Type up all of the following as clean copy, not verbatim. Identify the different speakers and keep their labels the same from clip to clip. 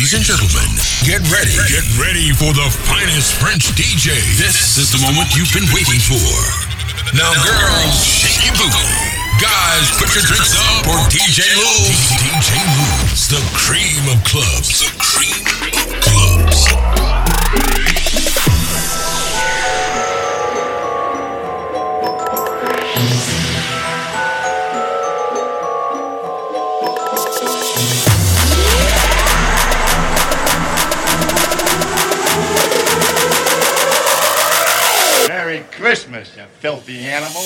Speaker 1: Ladies and gentlemen, get ready for the finest French DJ. This is the moment you've been waiting for. Now girls, shake your booty. Guys, put your drinks up for DJ Lou. DJ Lou's the cream of clubs. The cream of clubs.
Speaker 2: Merry Christmas, you filthy animal.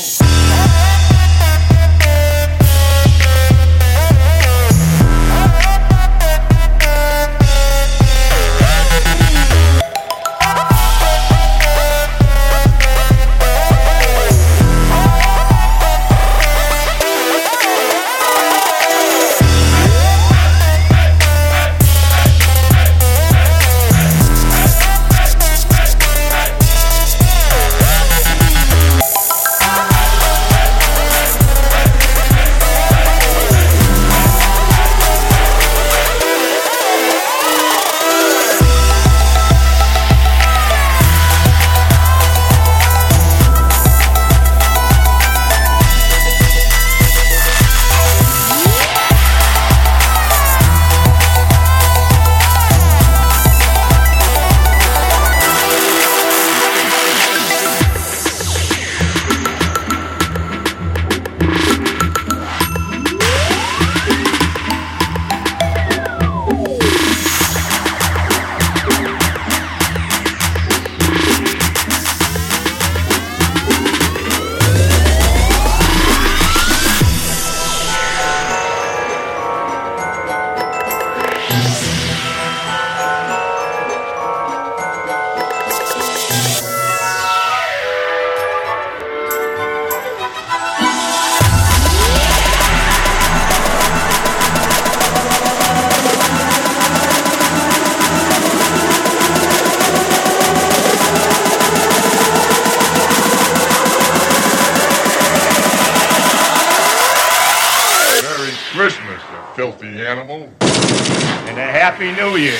Speaker 3: Christmas, you filthy animal.
Speaker 2: And a Happy New Year.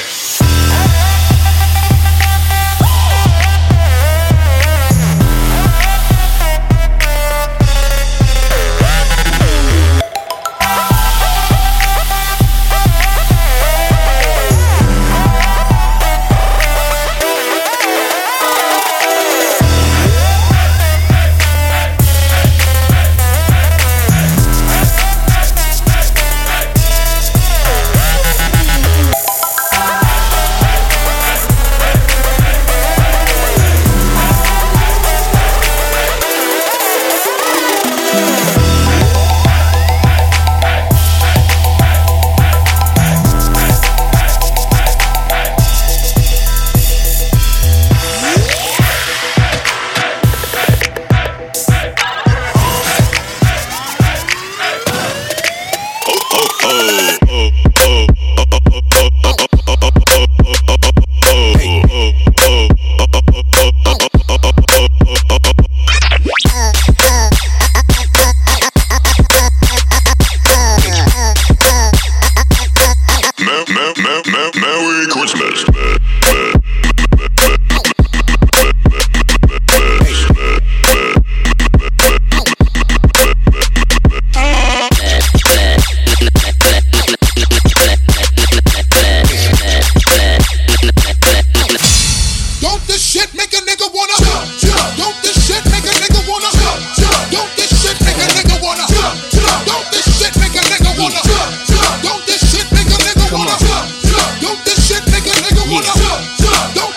Speaker 1: Merry Christmas.
Speaker 4: Don't this shit make a nigga wanna Don't this shit make a nigga wanna Don't this shit make a nigga wanna Don't this shit make a nigga wanna Don't this shit make a nigga wanna Don't this shit make a nigga wanna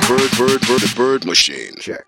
Speaker 5: The bird machine. Check.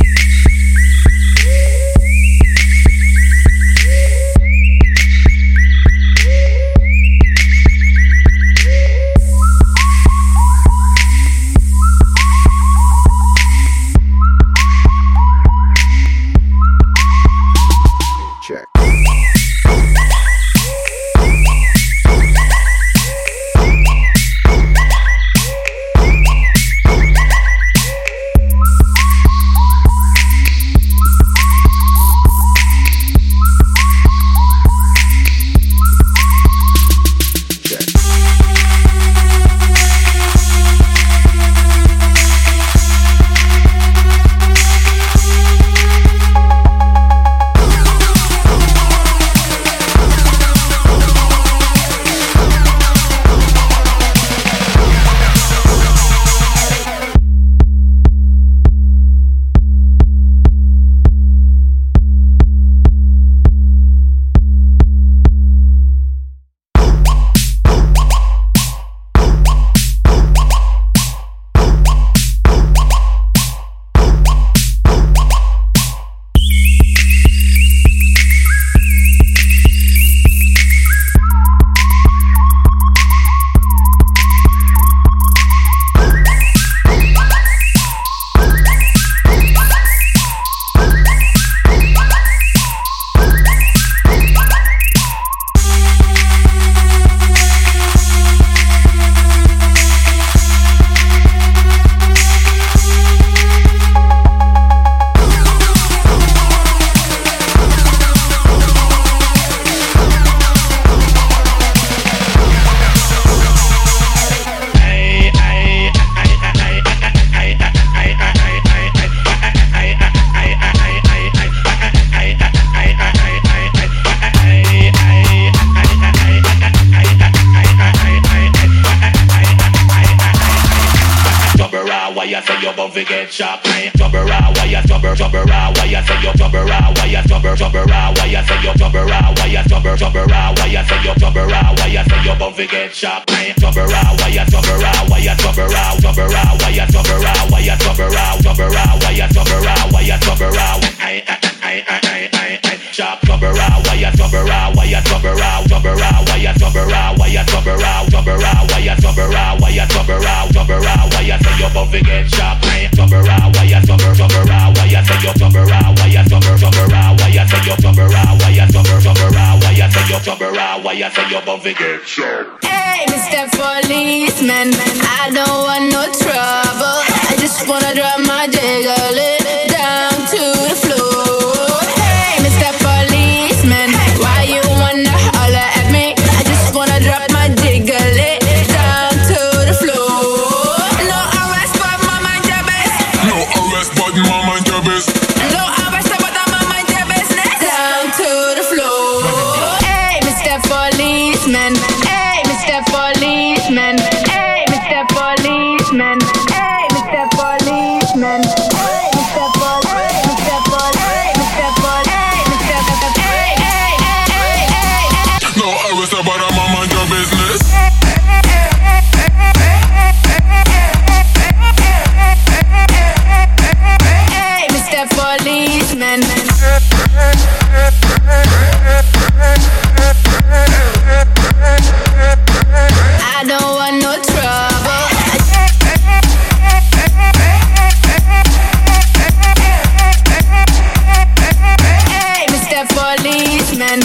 Speaker 6: Hey, Mr. Policeman, I don't want no trouble. I just wanna drop my jiggle down to the floor. Hey, Mr. Policeman, why you wanna holler at me? I just wanna drop my jiggle down to the floor. No arrest, but my mind your business.
Speaker 3: No arrest, but my mind your business.
Speaker 6: No arrest, but my mind your business. Down to the floor. Hey, Mr. Policeman. Hey, Mr. Policeman. Hey, Mr. Policeman. Hey, Mr. Policeman. Hey, Mr. Policeman. Mr. Policeman. Mr. Policeman. Hey, hey, hey, hey, hey.
Speaker 3: No arrest, but I'm mind your business.
Speaker 6: Hey, Mr. Policeman. I don't want no trouble. Hey, Mr. Policeman.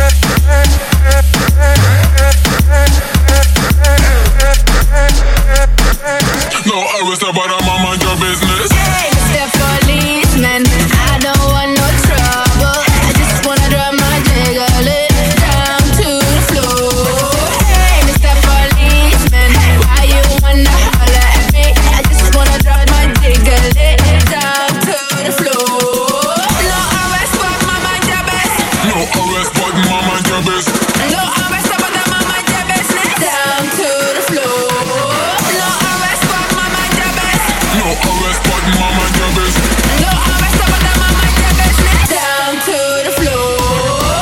Speaker 3: No arrest, but I'm mind your business.
Speaker 6: Hey, Mr. Policeman. I don't want no trouble. I just wanna drop my jiggle down to the floor. Hey, Mr. Policeman, why you wanna holler at me? I just wanna drop my jiggle down to the floor. No arrest, but my mind your business.
Speaker 3: No arrest, but my mind your business.
Speaker 6: No arrest, but my mind your business. Down to the floor. No arrest, but my mind your business.
Speaker 3: No arrest, but my mind your business.
Speaker 6: No arrest, but my mind your business. Down to the floor.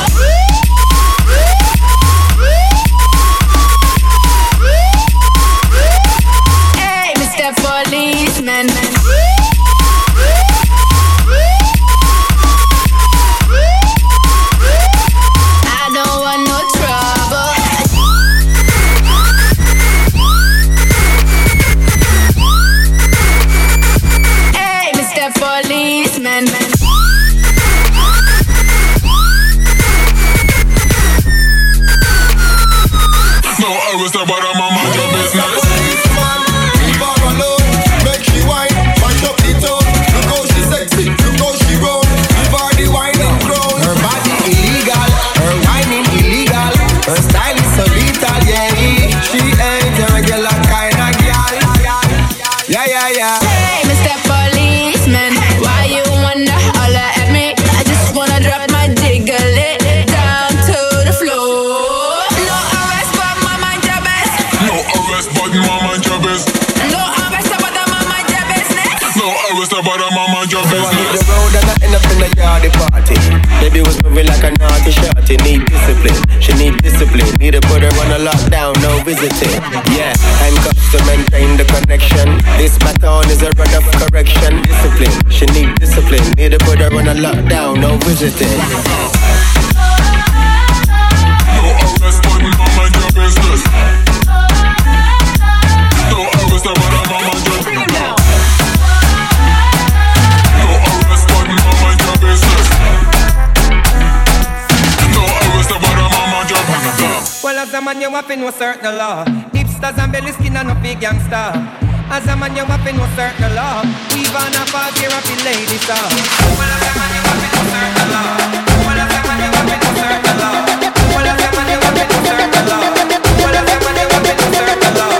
Speaker 6: Hey, Mr. policeman. I don't want no trouble. Hey, Mr. Policeman.
Speaker 3: No arrest her, but I'm mind your business.
Speaker 7: Leave her alone, make she whine, mash up the tone. Look how she sexy, look how she roll. Give her the whining crown. Her body illegal, her whining illegal. Her style is so lethal, yeah. She ain't a regular kind of girl. Yeah, yeah, yeah.
Speaker 6: Hey, Mr. Policeman, why you wanna holler at me? I just wanna drop my jiggle it down to the floor. No arrest, but my mind your best.
Speaker 3: No arrest, but my mind your business.
Speaker 6: No arrest, but my mind your business.
Speaker 3: No arrest her, but I'm mind your
Speaker 7: Hit the
Speaker 3: business.
Speaker 7: road and I end up in the yardy party. Baby was moving like a naughty shorty. Need discipline, she need discipline. Need to put her on a lockdown, no visiting. Yeah, handcuffs to maintain the connection. This baton is a run of correction. Discipline, she need discipline. Need to put her on a lockdown, no visiting.
Speaker 3: No arrest, but my mind your business. No arrest her, but I'm mind your business. No arrest, but my mind your business. No arrest her, but I'm mind your business.
Speaker 8: Well, as a man, you have to know certain law. Hipsters and belly skin and no big gangster. As a man, you have to know certain law. We've on a far here of the lady star. Well, as a man, you have to know certain law. Well, as a man, you have to know certain law. Well, as a man, you have to know certain law. Well, as a man, you have to know certain law.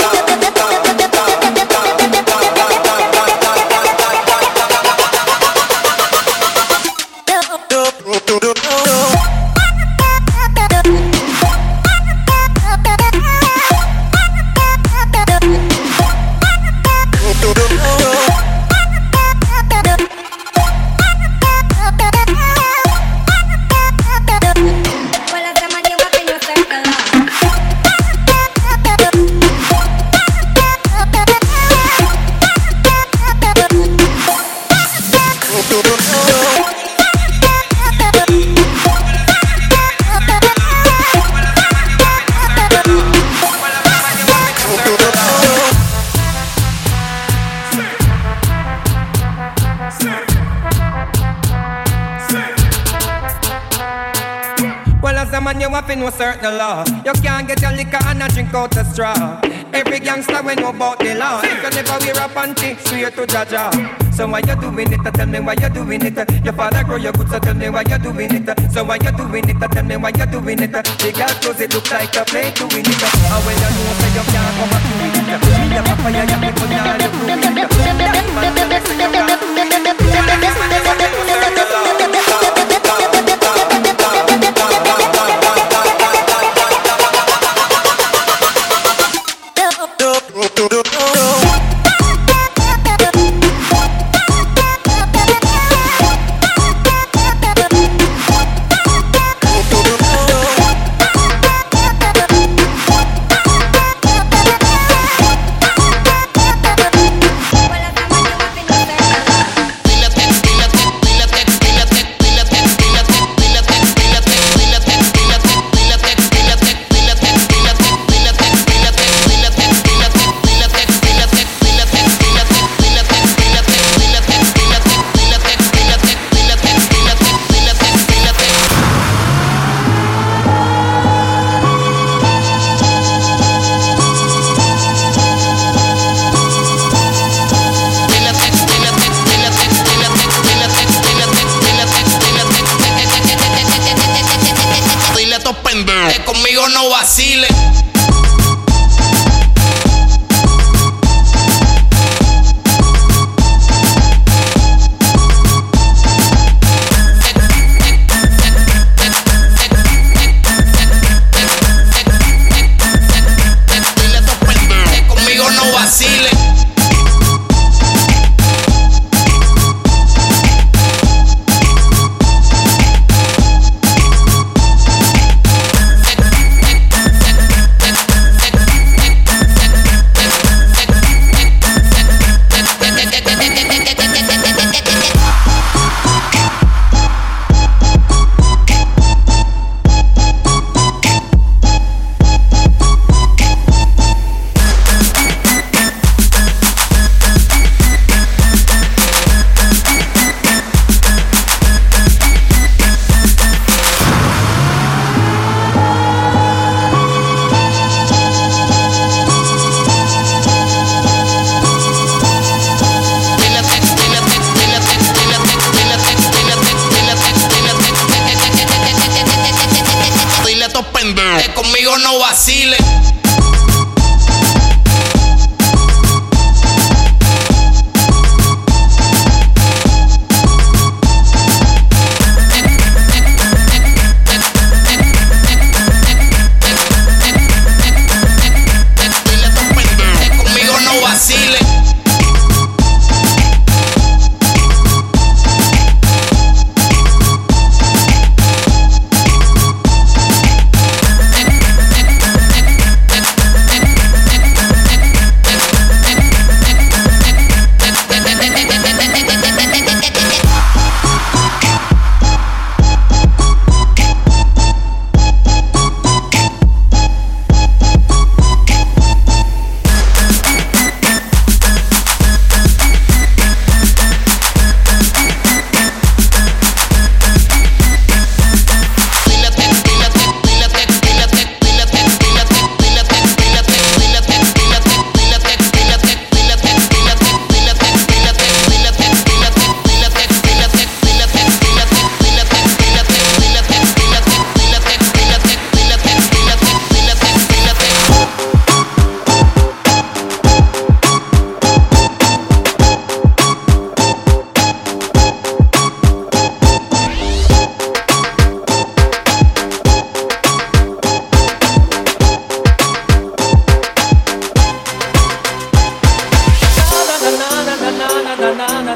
Speaker 8: Well, as a man, you have to know certain law. You can't get your liquor and a drink out the straw. Every gangster we know about the law. If you never wear a panty, swear to Jaja. So why you doing it? Tell me why you doing it. Your father grow your good, so tell me why you doing it. So why you doing it? Tell me why you doing it. The girl clothes it look like a play to win it. And when you know say you can't come back to it. Me a papa, you people now you prove it. That man tell me say you can't do it. Well, this man is a man who serve the law.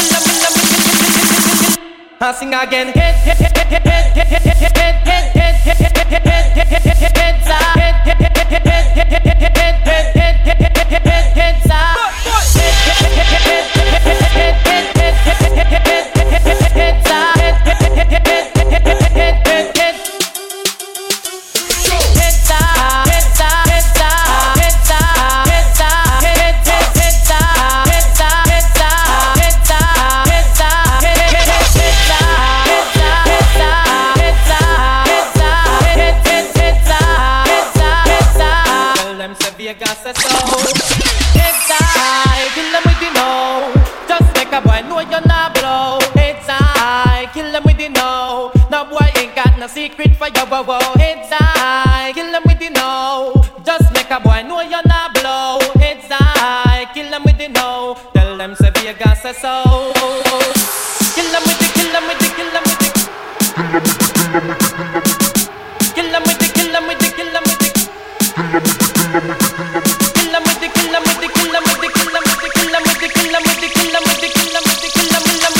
Speaker 8: I sing again.
Speaker 9: Secret for your wow, it's I kill them with the no. Just make a boy know you're not blow. It's I kill them with the no. Tell them say Vegas say so. Kill them with the, kill them with the, kill them with the. Kill them with the, kill them with the, kill them with the. Kill them with the, kill them with the, kill them with the, kill them with the, kill them with the, kill them with the, kill them with the, kill them with the, kill them with the,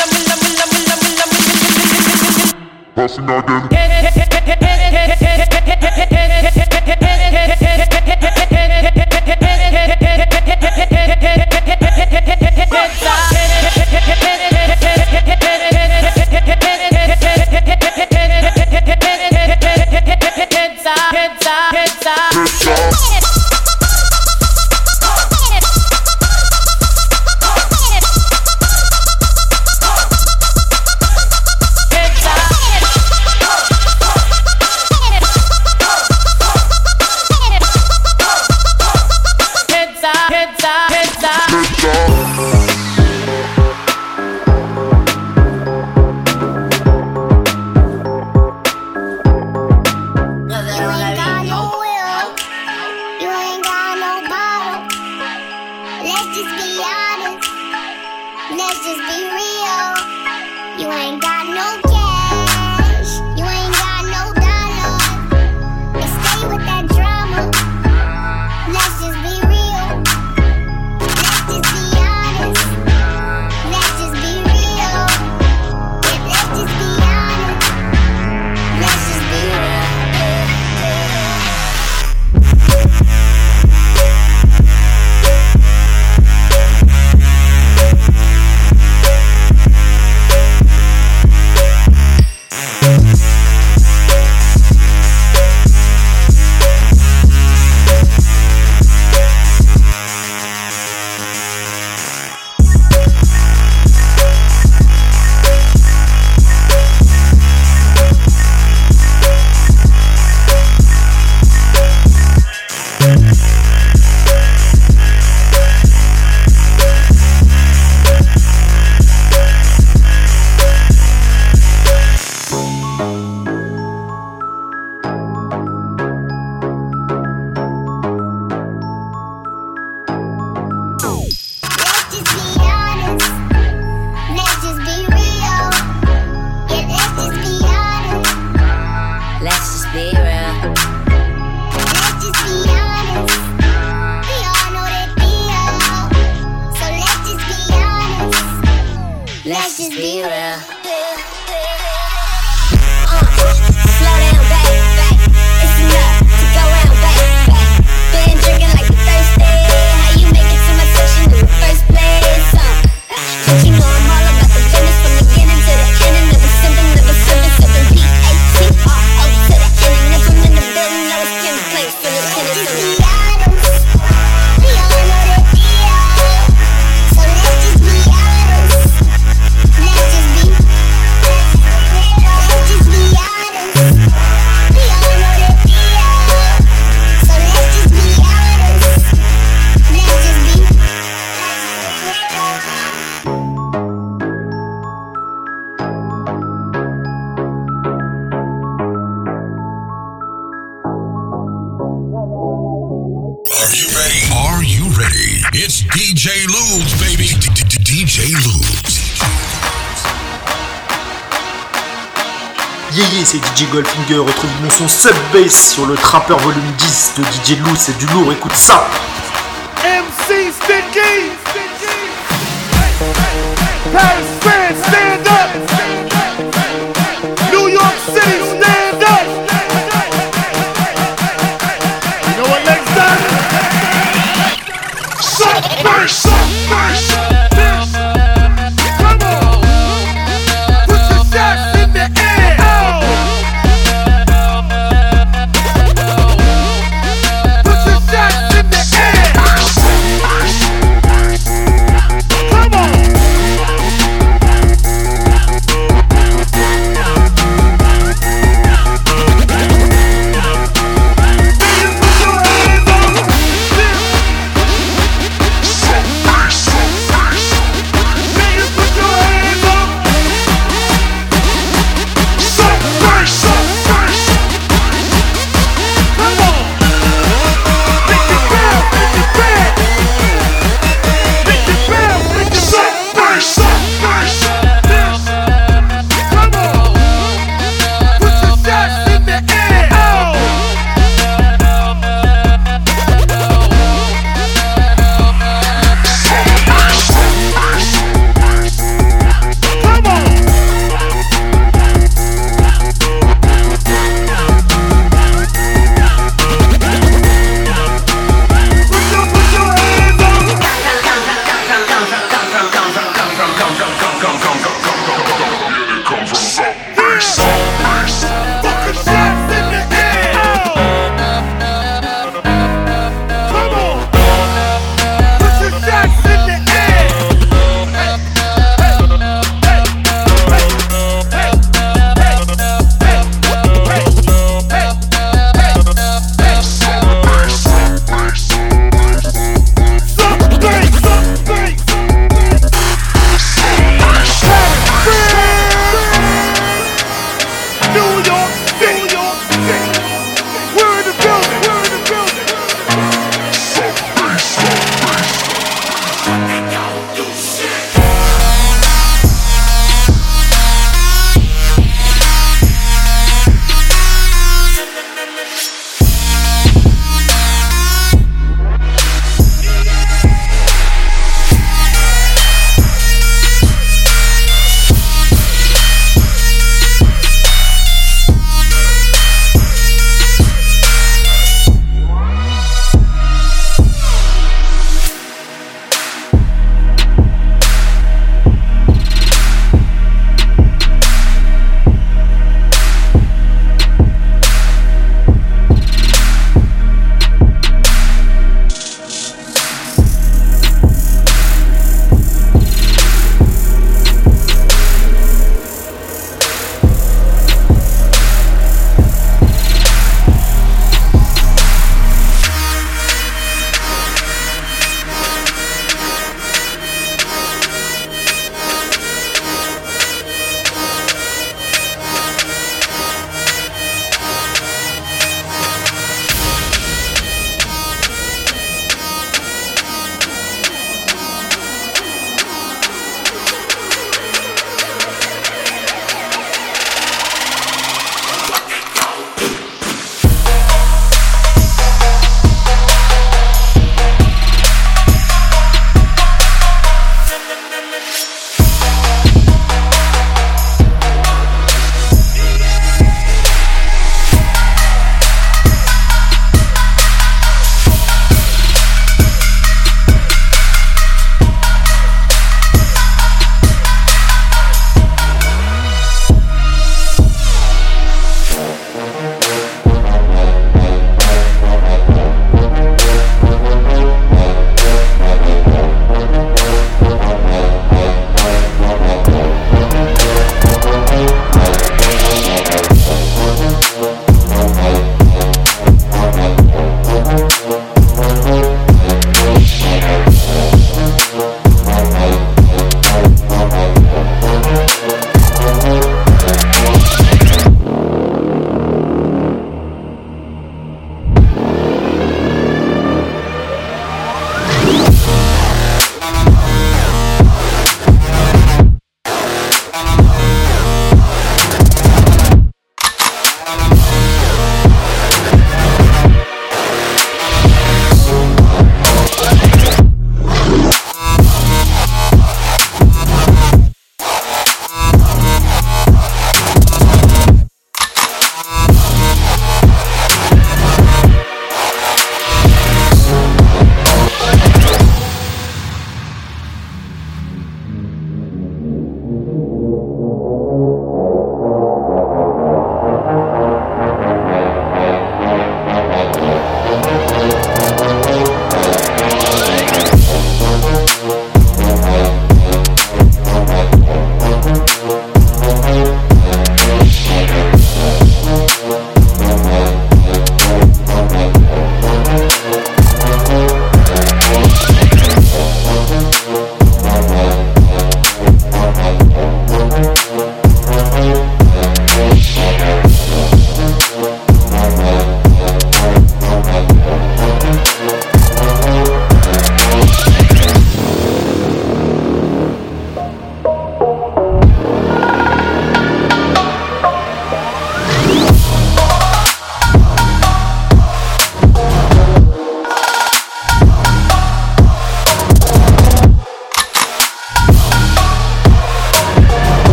Speaker 3: Passing again.
Speaker 10: Let's just be real. Slow down, baby. It's enough to go round, baby. Been drinking like you thirsty. How you make it to my session in the first place? But you know I'm all about the business from the beginning to the end. And never sipping PATRO to the ending. If I'm in the building, I was Kim Place from the tennis to the let's just be
Speaker 1: ready. It's DJ Lubes, baby. DJ Lubes.
Speaker 11: Yeah, c'est DJ Goldfinger. Retrouve mon son Sub-Bass sur le Trapper Volume 10 de DJ Lou. C'est du lourd, écoute ça.
Speaker 12: MC Sticky. Paris, France, stand up. New York City, stand up. You know what next time? Sub-Bass, Sub-Bass. Come on. Put your shots in the air. Put your shots in the air. Come on.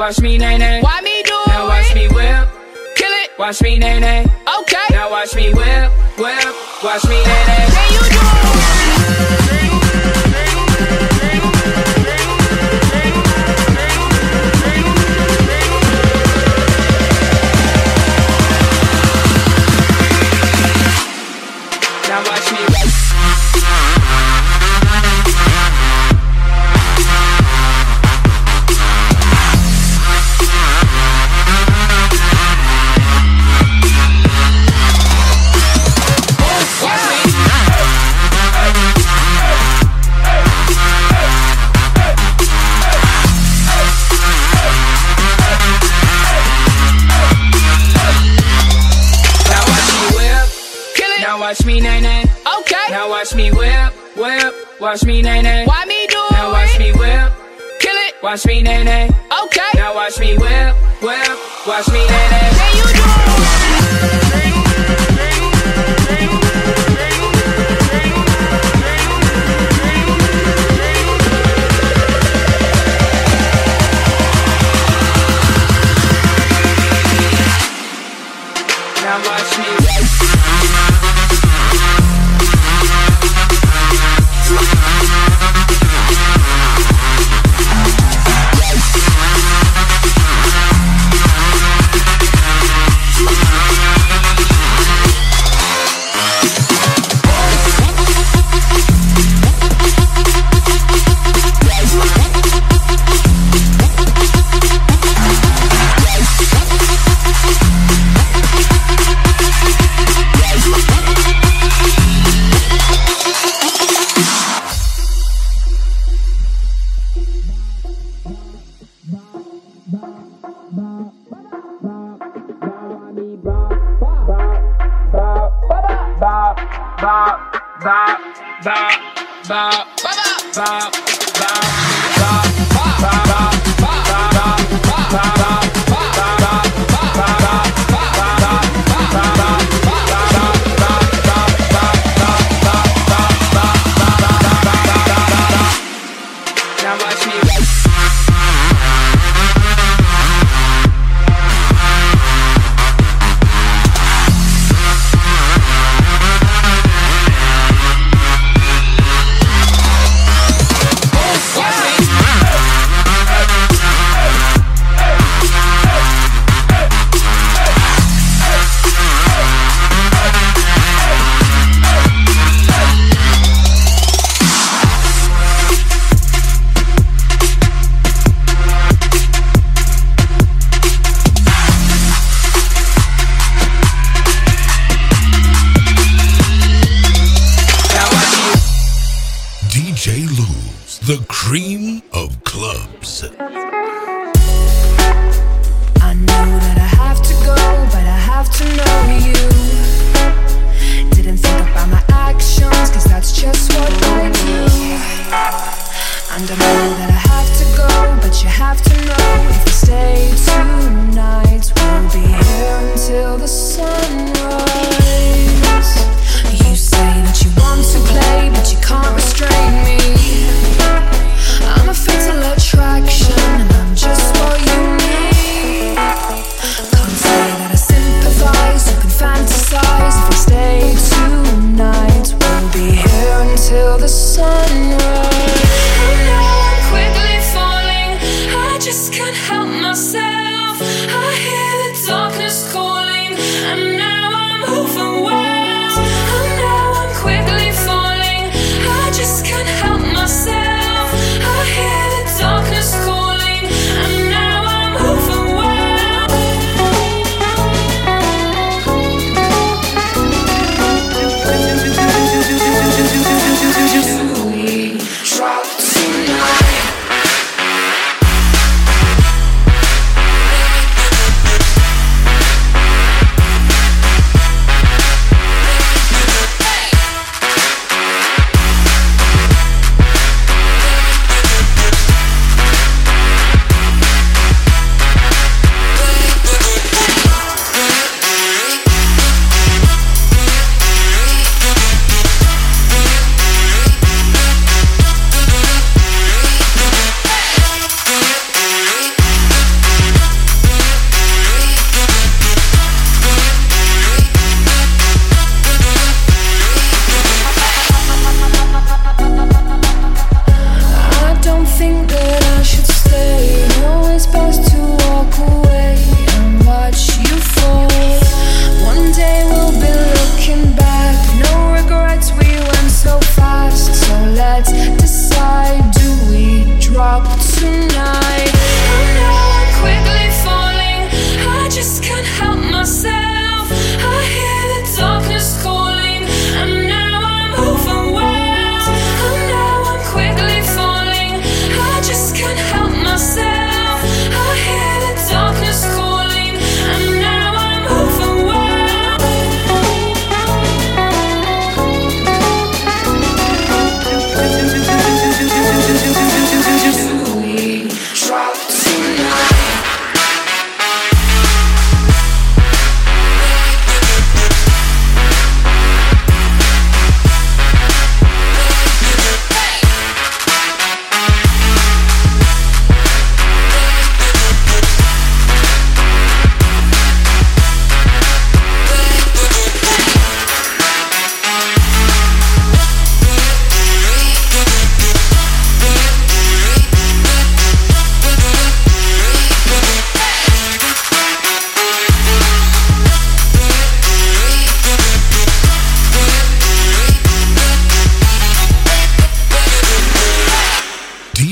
Speaker 13: watch me nay nay.
Speaker 9: Why me do
Speaker 13: Now watch me whip.
Speaker 9: Kill it.
Speaker 13: Watch me nay nay.
Speaker 9: Okay.
Speaker 13: Now watch me whip, whip. Watch me nay nay.
Speaker 9: Can you do
Speaker 13: Now watch me. Watch me nay nay.
Speaker 9: Okay.
Speaker 13: Now watch me whip, whip. Watch me nay nay.
Speaker 9: Why me do
Speaker 13: Now watch me whip.
Speaker 9: Kill it.
Speaker 13: Watch me nay nay.
Speaker 9: Okay.
Speaker 13: Now watch me whip, whip. Watch me nay nay.
Speaker 9: Can you do
Speaker 13: Now watch me.
Speaker 1: The cream of clubs.
Speaker 14: I know that I have to go, but I have to know you. Didn't think about my actions, cause that's just what I do. And I know that I have to go, but you have to know, if we stay tonight, we'll be here until the sunrise. You say that you want to play, but you can't restrain me. I'm a fatal attraction, and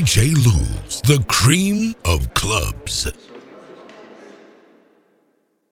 Speaker 1: DJ Luz, the cream of clubs.